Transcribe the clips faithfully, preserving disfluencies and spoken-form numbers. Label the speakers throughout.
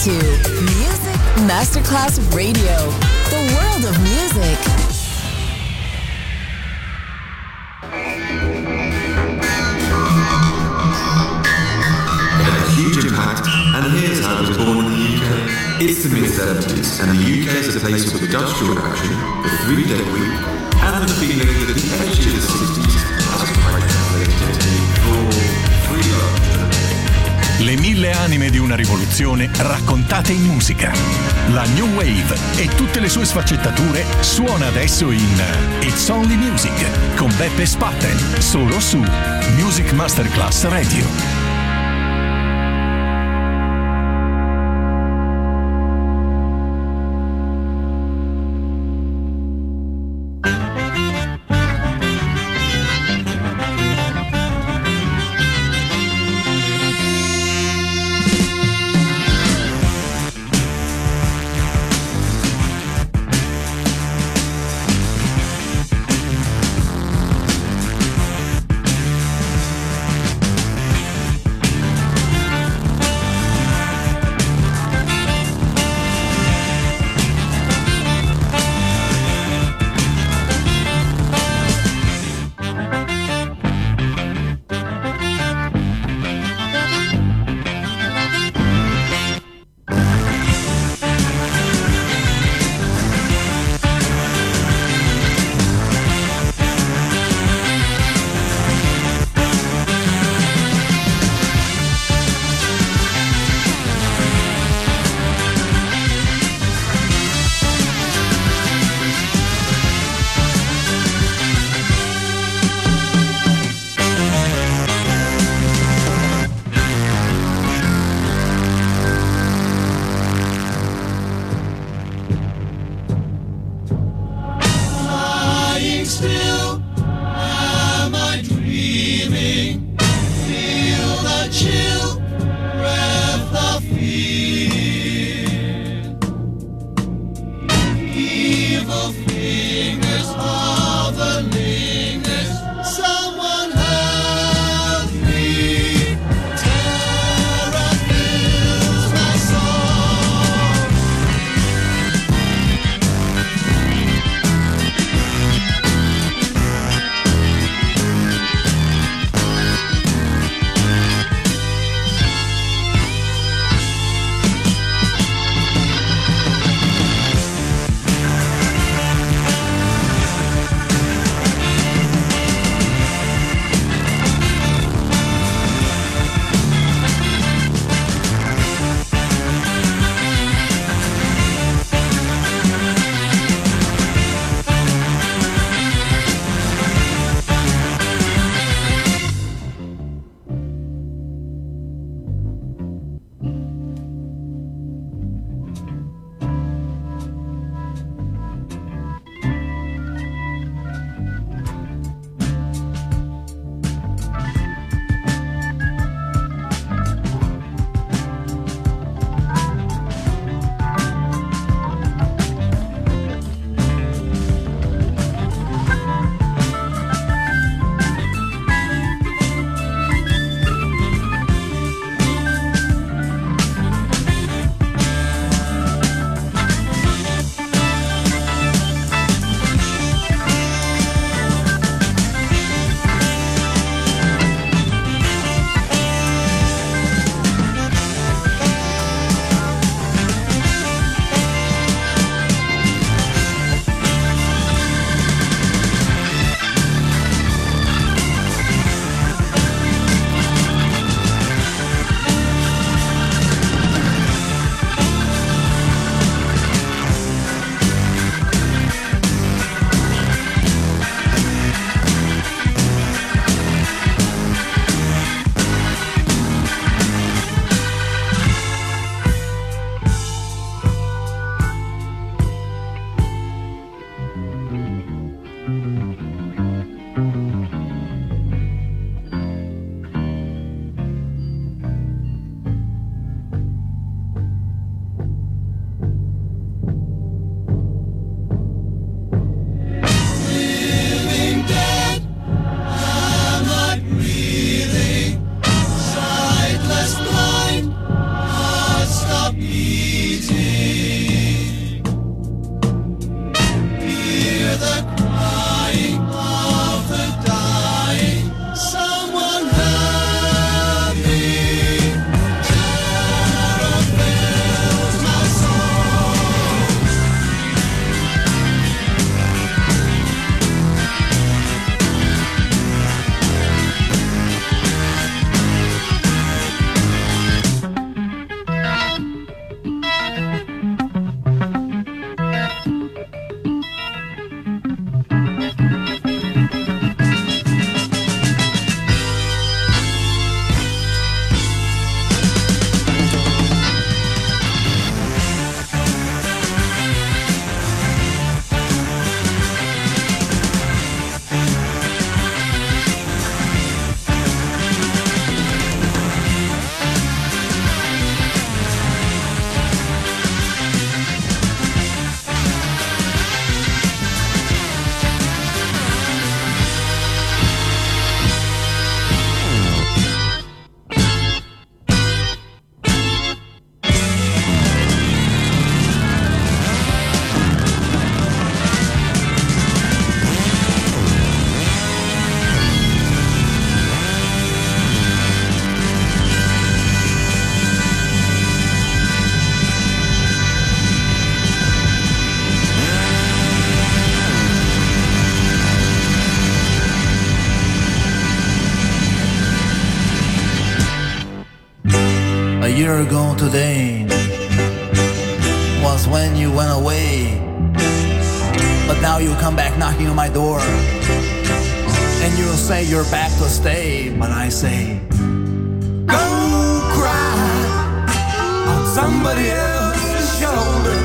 Speaker 1: to Music Masterclass Radio, the world of music.
Speaker 2: It had a huge impact, and here's how it was born in the U K. It's the mid seventies, and the U K is a place with industrial action, the three-day week, and the feeling that the edge of the sixties has quite translated for freedom.
Speaker 3: Le mille anime di una rivoluzione raccontate in musica. La New Wave e tutte le sue sfaccettature suona adesso in It's Only Music con Beppe Spatten, solo su Music Masterclass Radio.
Speaker 4: year ago today was when you went away. But now you come back knocking on my door, and you'll say you're back to stay. But I say, go cry on somebody else's shoulder.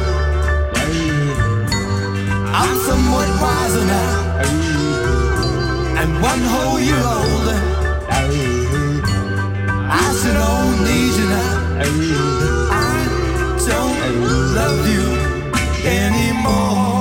Speaker 4: I'm somewhat wiser now, and one whole year older. I still don't need you now. I don't love you anymore.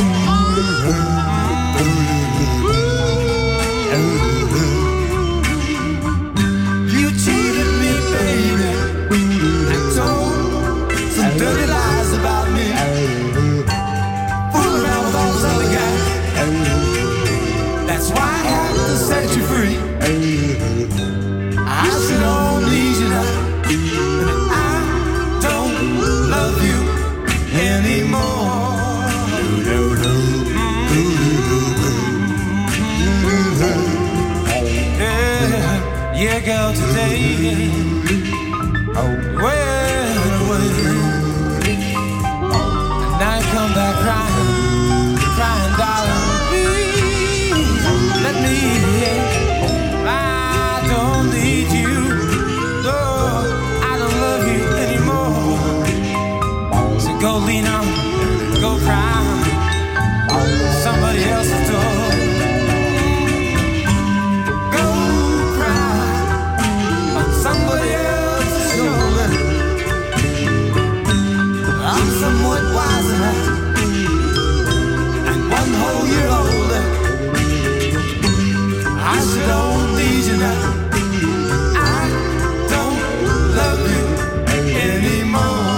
Speaker 4: You cheated me, baby, and told some dirty lies about me. Fooling around with all those other guys. That's why I have to set you free. I still don't need you now. I don't love you anymore. Yeah, yeah, girl, today went away, and now you come back crying, crying, darling, please let me in. I don't need you, no, I don't love you anymore. So go lean on, go cry somebody else's door. Go cry on somebody else's shoulder. I'm somewhat wiser now, and one whole year older. I still don't need you now. I don't love you anymore.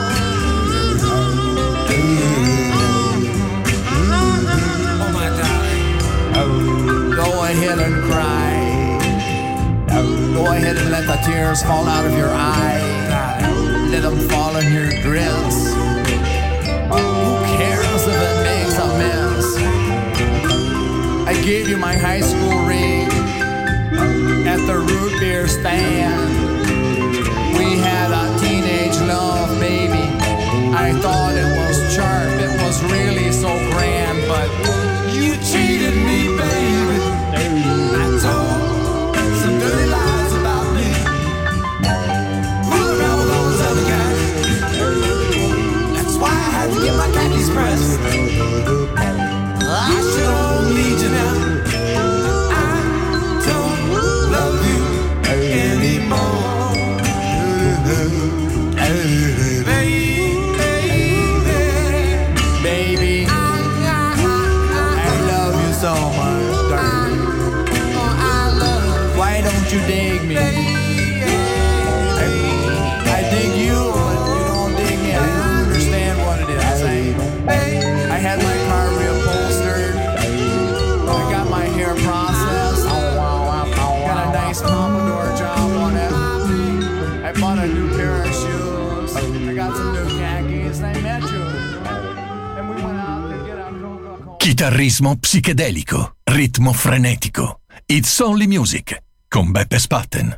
Speaker 4: Go ahead and cry. Go ahead and let the tears fall out of your eyes. Let them fall in your dress. Who cares if it makes a mess? I gave you my high school ring at the root beer stand. We had a teenage love, baby. I thought it was sharp, it was really so grand, but you cheated me, baby. I told some dirty lies about me. Fooling around with all those other guys. That's why I had to get my khakis pressed. I sure don't need you now. I don't love you anymore. Baby, baby, I love you so much, darling. Why don't you dig me? I, I dig you, but you don't dig me. I don't understand what it is. I, I had my car reupholstered. I got my hair processed. Got a nice pompadour job on it. I bought a new pair of shoes. I got some new khakis. I met you. And we went out to get a Coca-Cola.
Speaker 3: Chitarrismo psichedelico, ritmo frenetico. It's Only Music con Beppe Spatten.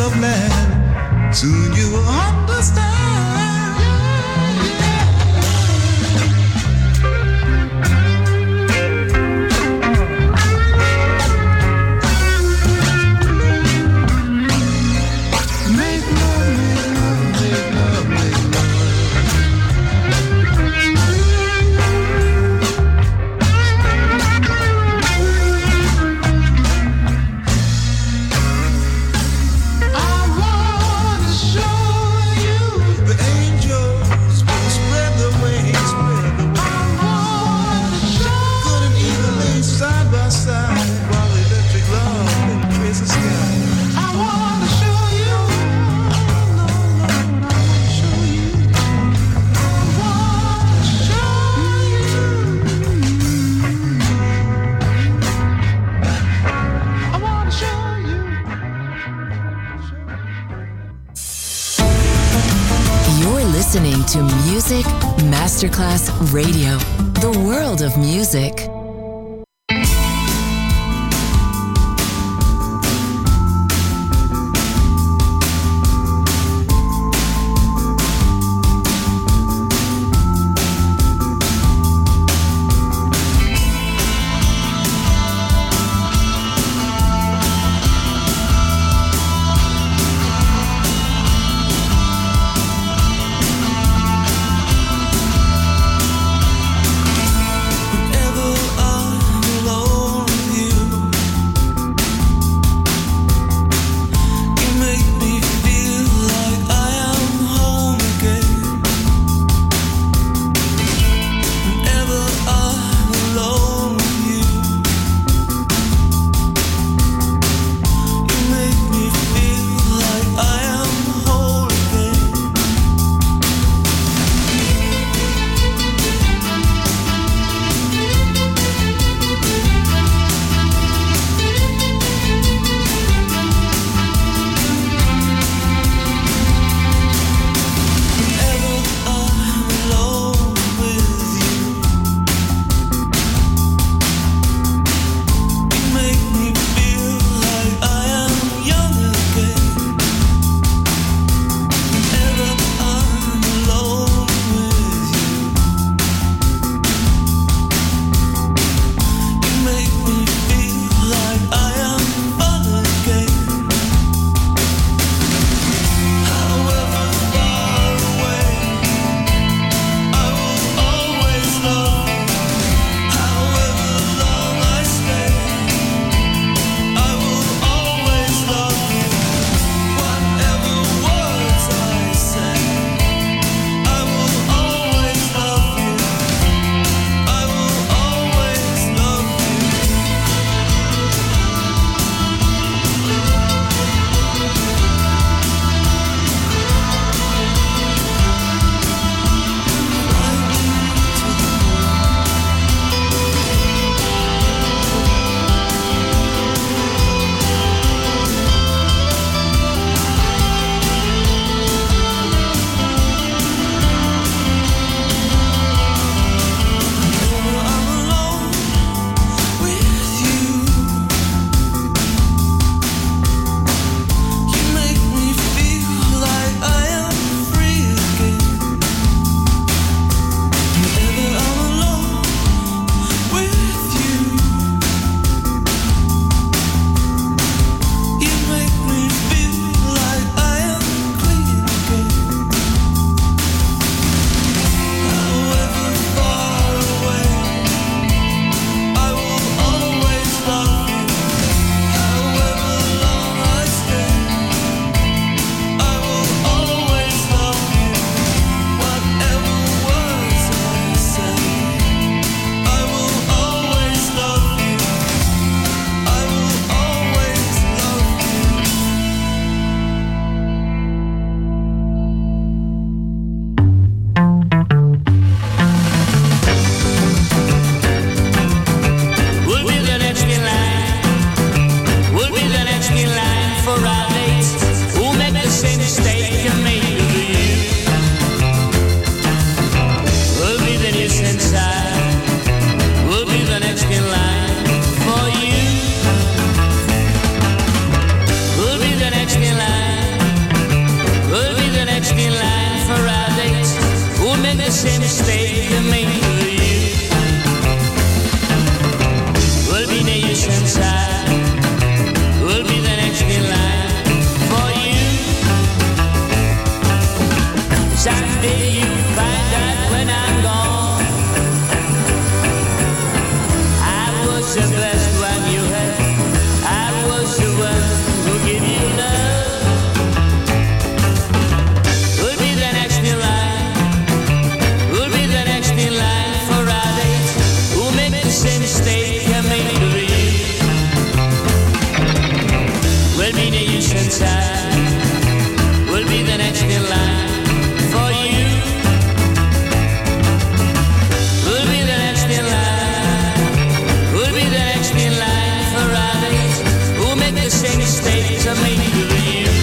Speaker 5: love land. Soon you will understand.
Speaker 1: Listening to Music Masterclass Radio, the world of music.
Speaker 5: Whenever
Speaker 6: Well, being a youth inside will be the next in line for you. Will be the next in line. Will be the next in line for others who make the same mistakes of making you.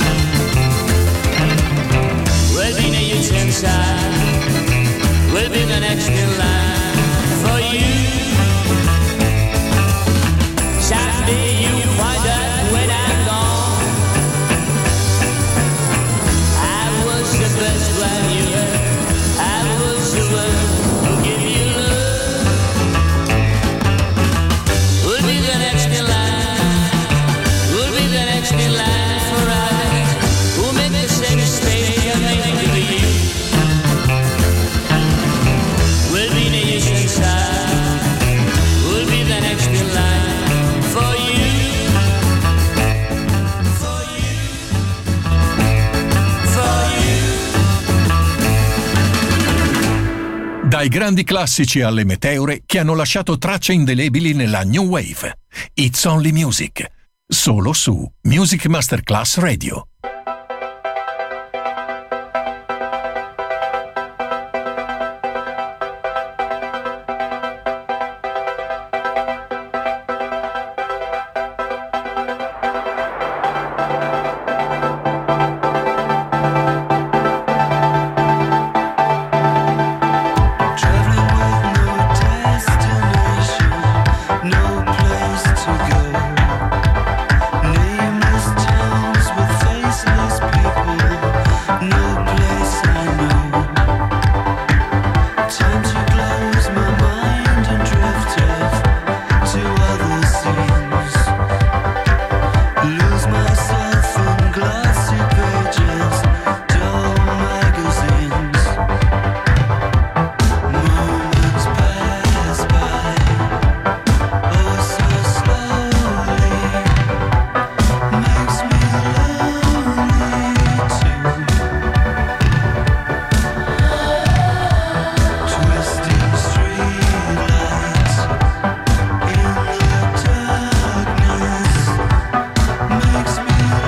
Speaker 6: Well, being a youth inside will be the next in line for you. Someday you find out when I'm gone, I was the best one you had. I was the one who gave you love. We'll be the next in line. We'll be the next in line for others who make the same mistake of making you. We'll be the youth inside. We'll be the next in line for you. For you. For you.
Speaker 3: Dai grandi classici alle meteore che hanno lasciato tracce indelebili nella New Wave. It's Only Music. Solo su Music Masterclass Radio.
Speaker 5: Makes me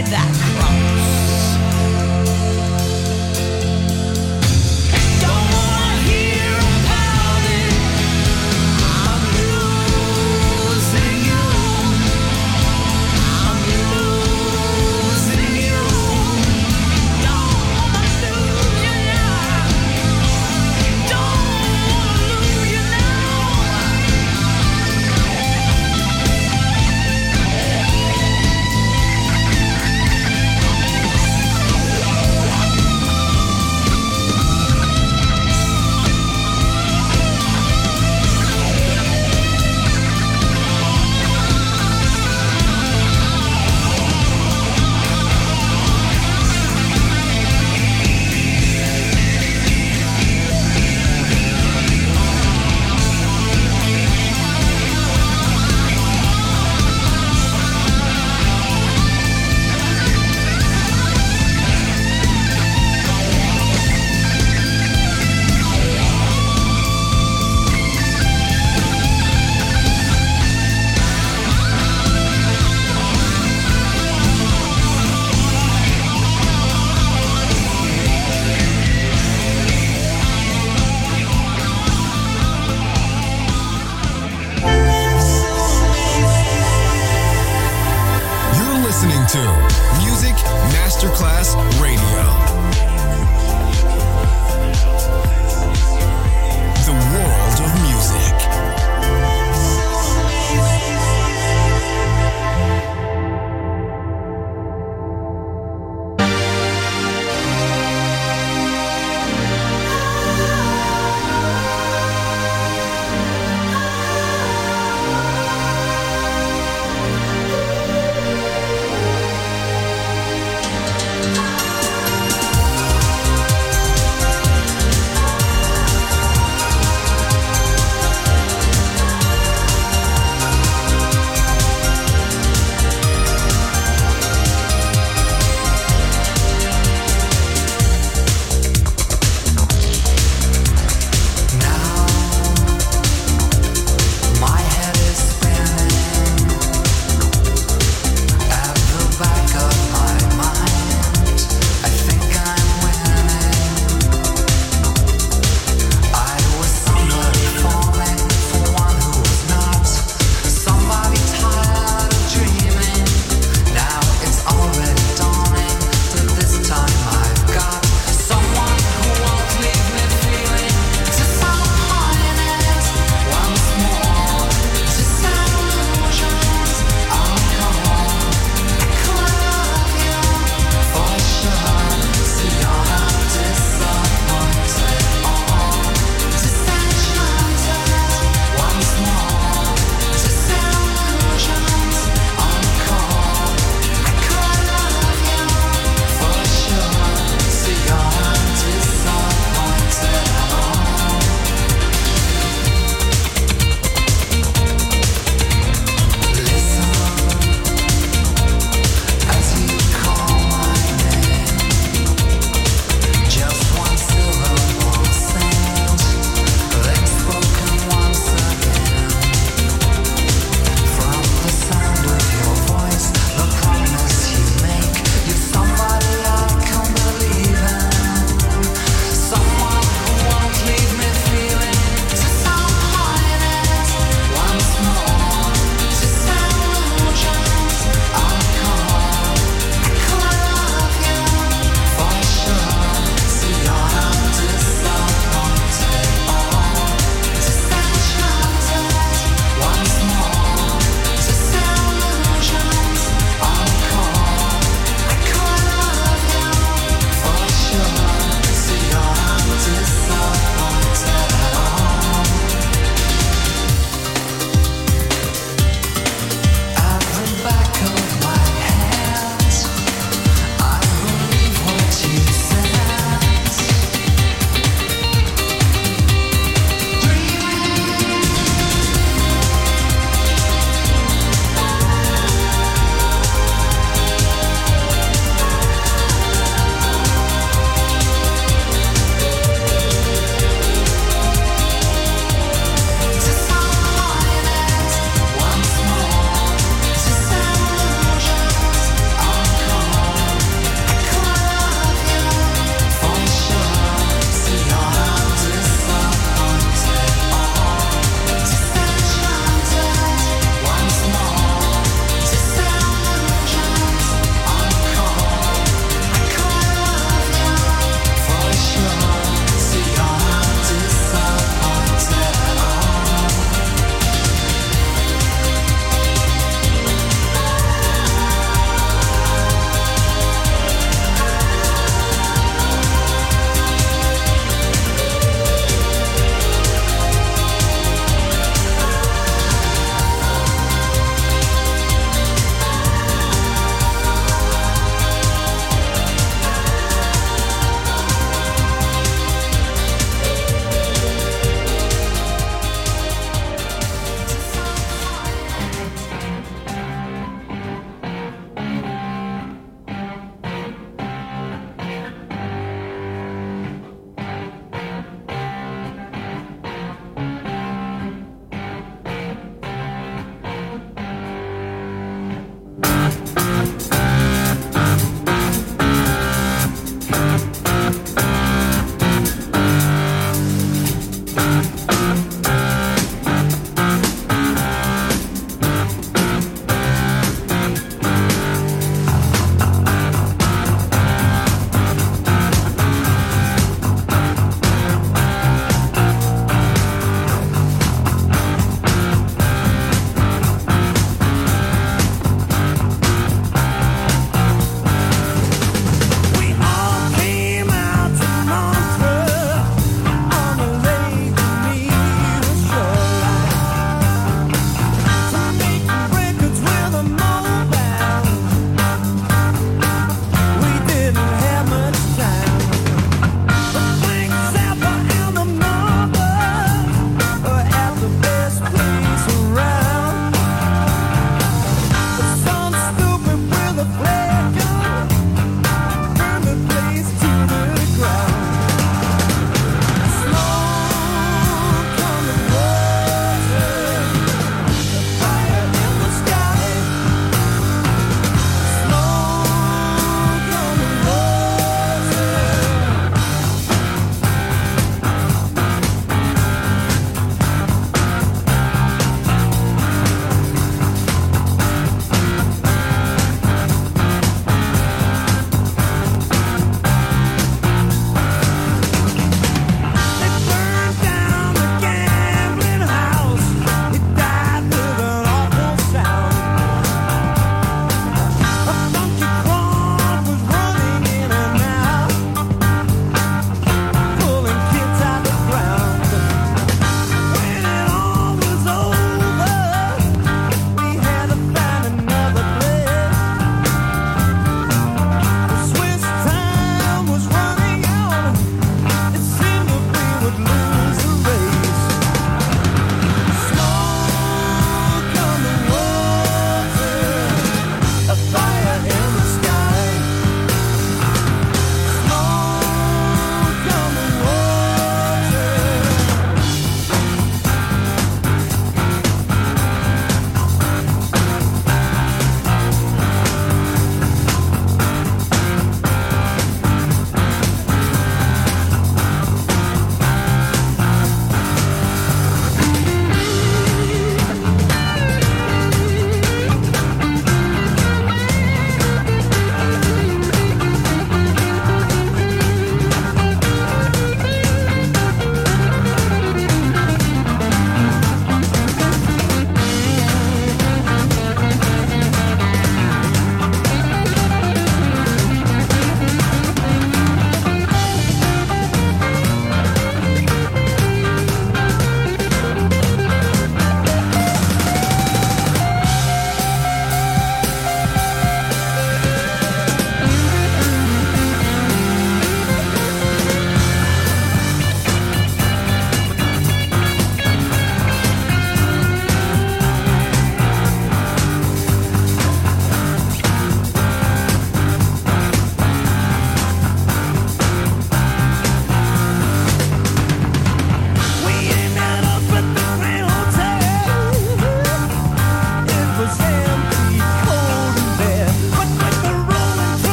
Speaker 7: carry that cross.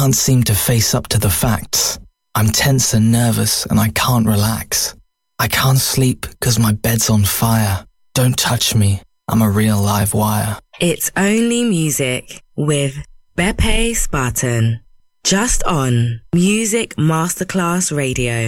Speaker 7: can't seem to face up to the facts. I'm tense and nervous and I can't relax. I can't sleep because my bed's on fire. Don't touch me, I'm a real live wire.
Speaker 8: It's Only Music with Beppe Spartan. Just on Music Masterclass Radio.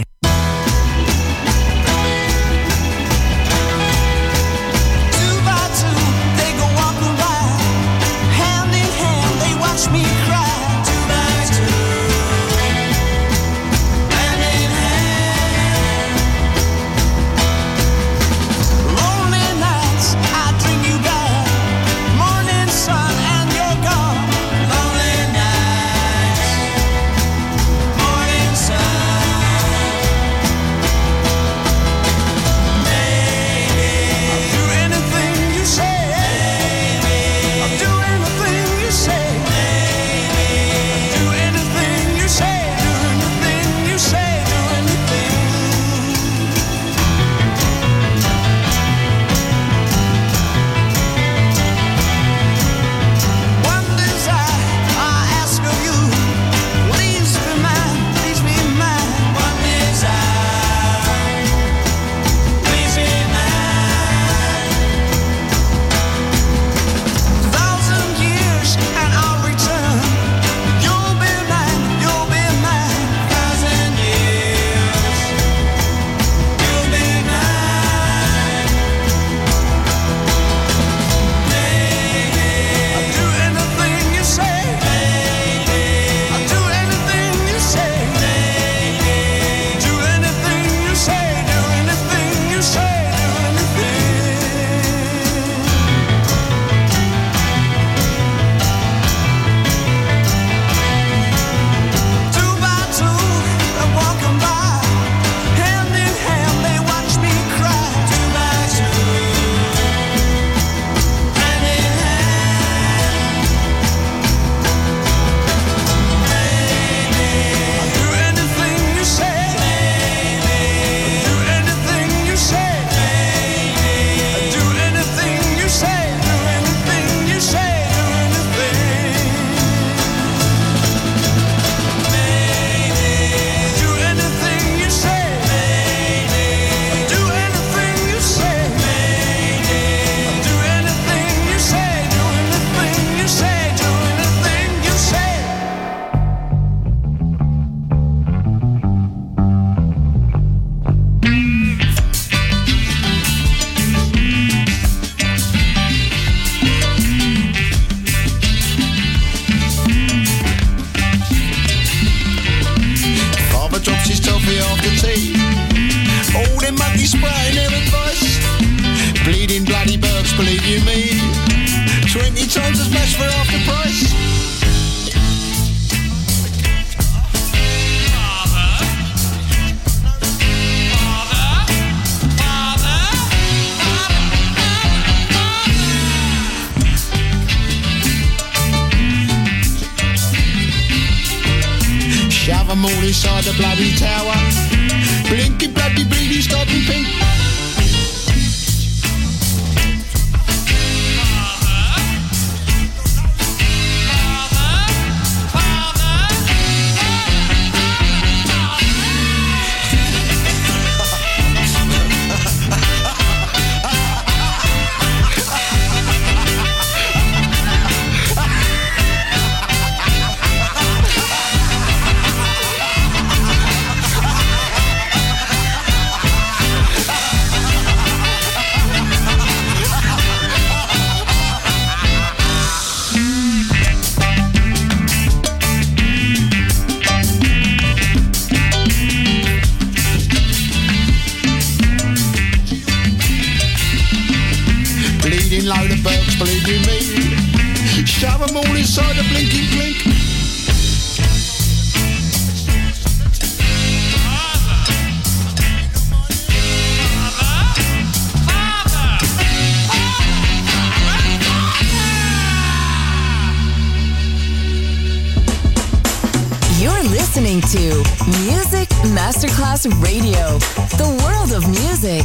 Speaker 1: listening to Music Masterclass Radio, the world of music.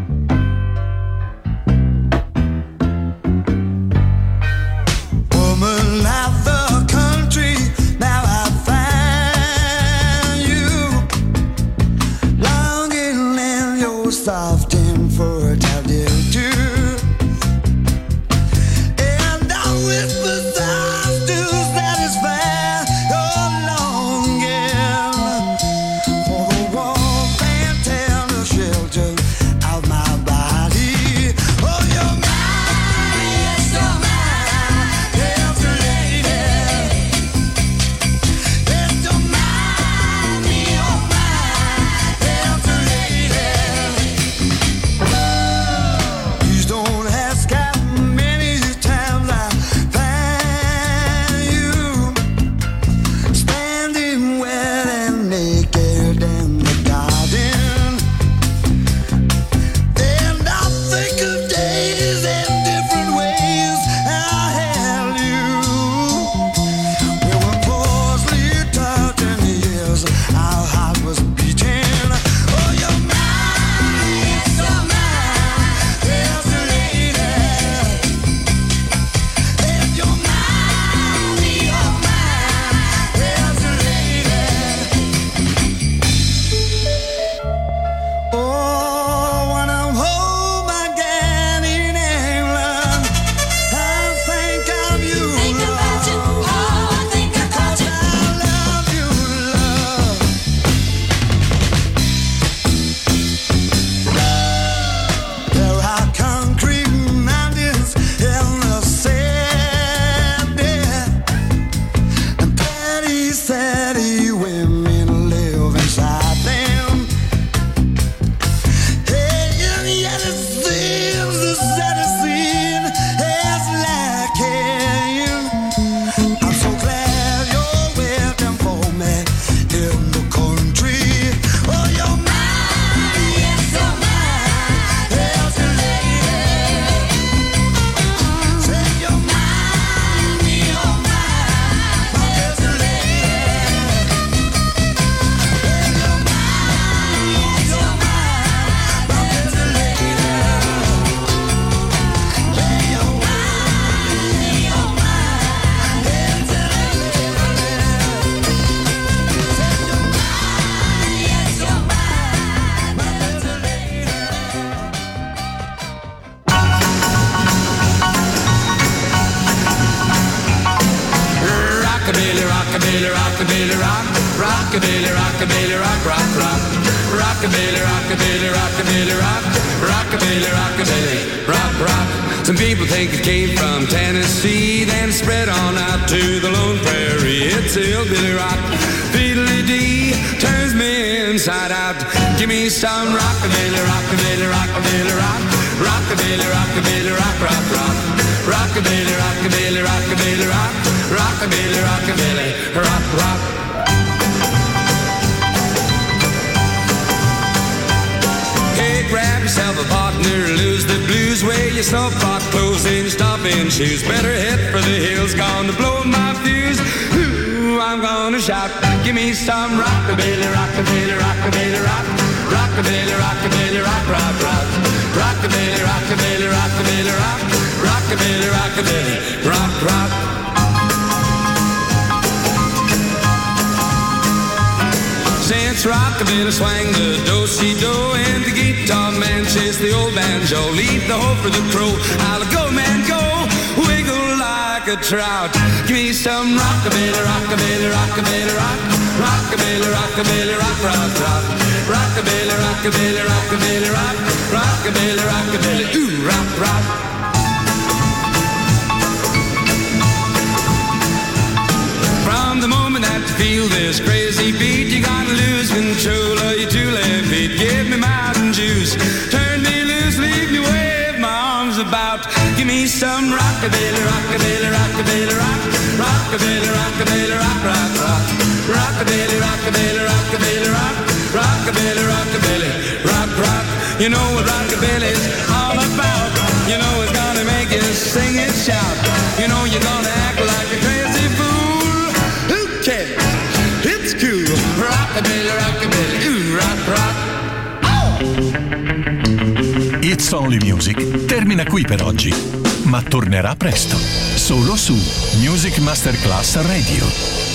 Speaker 5: Woman,
Speaker 9: rockabilly, rockabilly, rock, rockabilly, rockabilly, rock, rock, rock, rockabilly, rockabilly, rockabilly, rock, rockabilly, rockabilly, rock, rock. Some people think it came from Tennessee, then spread on out to the Lone Prairie. It's hillbilly rock, fiddly-dee, turns me inside out. Give me some rockabilly, rockabilly, rockabilly, rock, rockabilly, rockabilly, rock, rock, rock, rockabilly, rockabilly, rockabilly, rock, rockabilly, rockabilly, rock, rock. Hey, grab yourself a partner, lose the blues, wear your snowboard clothes and stomping shoes. Better head for the hills, gonna blow my fuse. Ooh, I'm gonna shout, give me some rockabilly, rockabilly, rockabilly, rock, rockabilly, rockabilly, rock, rock, rock, rockabilly, rockabilly, rockabilly, rock, rockabilly, rockabilly, rock, rock. Since rockabilly swang the do-si-do and the guitar man chase the old banjo, leave the hoe for the crow. I'll go, man, go, wiggle like a trout. Give me some rockabilly, rockabilly, rockabilly, rock, rockabilly, rockabilly, rock, rock, rock, rockabilly, rockabilly, rockabilly, rock, rockabilly, rockabilly, ooh, rock, rock. From the moment that you feel this crazy beat, you gotta lose control of your two left feet. Give me Mountain Juice, turn me loose, leave me wave my arms about. Give me some rockabilly, rockabilly, rockabilly, rock, rockabilly, rockabilly, rock, rock, rock, rockabilly, rockabilly, rockabilly, rock, rockabilly, rockabilly, rock, rock. You know what rockabilly's all about. You know it's gonna make you sing and shout. You know you're gonna act like a crazy fool. Who cares? It's cool. Rockabilly, rockabilly, ooh, rock, rock. Oh!
Speaker 3: It's Only Music termina qui per oggi, ma tornerà presto, solo su Music Masterclass Radio.